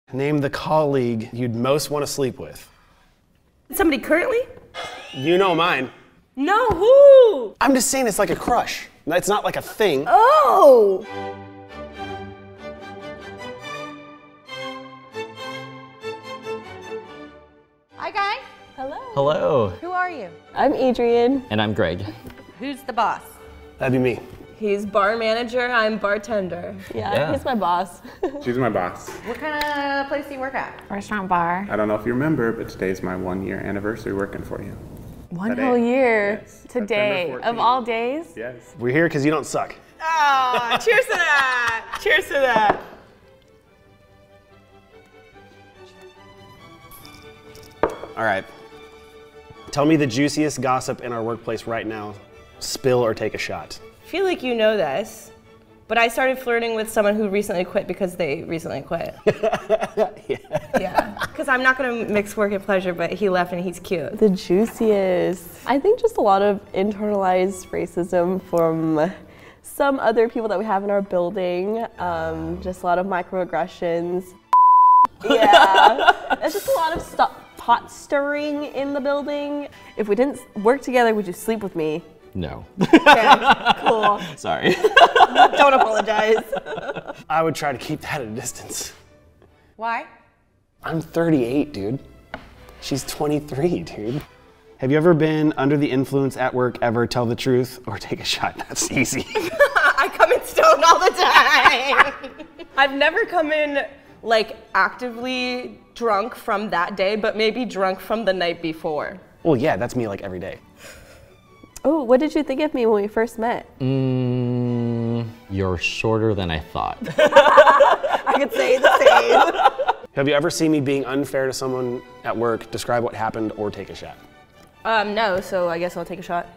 Name the colleague you'd most want to sleep with. Somebody currently? You know mine. No, who? I'm just saying it's like a crush. It's not like a thing. Oh! Hi, Guy. Hello. Hello. Who are you? I'm Adrian. And I'm Greg. Who's the boss? That'd be me. He's bar manager, I'm bartender. Yeah, he's my boss. She's my boss. What kind of place do you work at? Restaurant bar. I don't know if you remember, but today's my 1-year anniversary working for you. One Today. whole year. Yes, Today. September Of 14th. all days? Yes. We're here because you don't suck. Oh, cheers to that! Cheers to that! All right. Tell me the juiciest gossip in our workplace right now. Spill or take a shot. I feel like you know this, but I started flirting with someone who recently quit because they recently quit. Yeah. Because I'm not going to mix work and pleasure, but he left and he's cute. The juiciest. I think just a lot of internalized racism from some other people that we have in our building. Just a lot of microaggressions. Yeah. There's just a lot of pot stirring in the building. If we didn't work together, would you sleep with me? No. Okay, cool. Sorry. Don't apologize. I would try to keep that at a distance. Why? I'm 38, dude. She's 23, dude. Have you ever been under the influence at work ever? Tell the truth or take a shot. That's easy. I come in stoned all the time. I've never come in like actively drunk from that day, but maybe drunk from the night before. Well, yeah, that's me like every day. Oh, what did you think of me when we first met? You're shorter than I thought. I could say the same. Have you ever seen me being unfair to someone at work? Describe what happened or take a shot. No, so I guess I'll take a shot.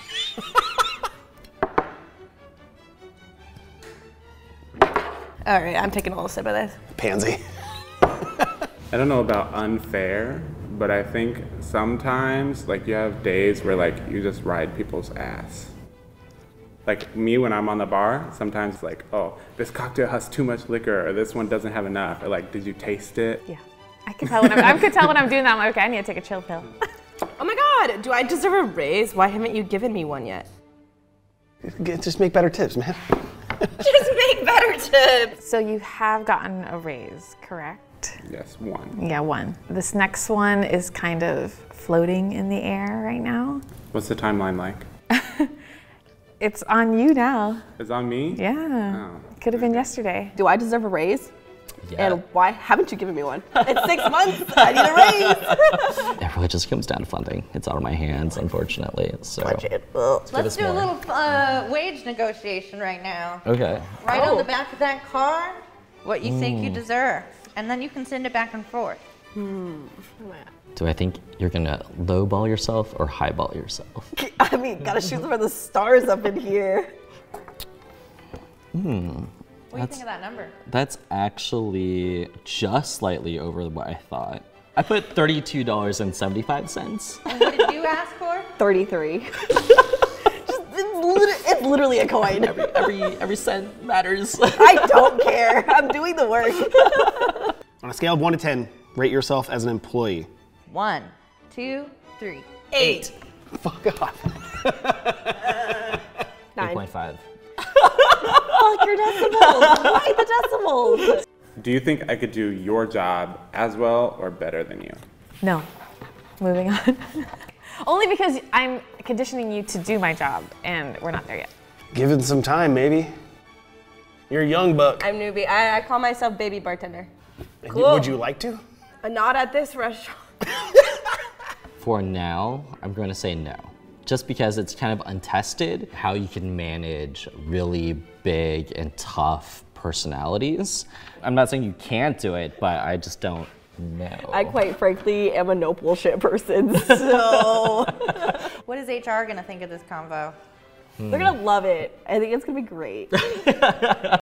All right, I'm taking a little sip of this. Pansy. I don't know about unfair, but I think sometimes, like, you have days where, like, you just ride people's ass. Like, me when I'm on the bar, sometimes it's like, oh, this cocktail has too much liquor, or this one doesn't have enough, or like, did you taste it? Yeah. I could tell when I'm doing that. I'm like, okay, I need to take a chill pill. Oh my God, do I deserve a raise? Why haven't you given me one yet? Just make better tips, man. Just make better tips. So you have gotten a raise, correct? Yes, 1. Yeah, 1. This next one is kind of floating in the air right now. What's the timeline like? It's on you now. It's on me? Yeah. Oh. Could have been yesterday. Do I deserve a raise? Yeah. And why haven't you given me one? It's 6 months, I need a raise. It really just comes down to funding. It's out of my hands, unfortunately. So. Let's do a little wage negotiation right now. Okay. Right on the back of that card, what you think you deserve. And then you can send it back and forth. Do I think you're gonna lowball yourself or highball yourself? I mean, gotta shoot for the stars up in here. What do you think of that number? That's actually just slightly over what I thought. I put $32.75. And what did you ask for? 33. It's literally a coin. Every cent matters. I don't care. I'm doing the work. On a scale of 1 to 10, rate yourself as an employee. 1, 2, 3. 8. Fuck off. 9. 8.5. Fuck your decimals. Why the decimals? Do you think I could do your job as well or better than you? No. Moving on. Only because I'm conditioning you to do my job, and we're not there yet. Give it some time, maybe. You're a young buck. I'm newbie. I call myself baby bartender. Cool. Would you like to? Not at this restaurant. For now, I'm going to say no. Just because it's kind of untested how you can manage really big and tough personalities. I'm not saying you can't do it, but I just don't know. I quite frankly am a no bullshit person, so. What is HR gonna think of this convo? They're gonna love it. I think it's gonna be great.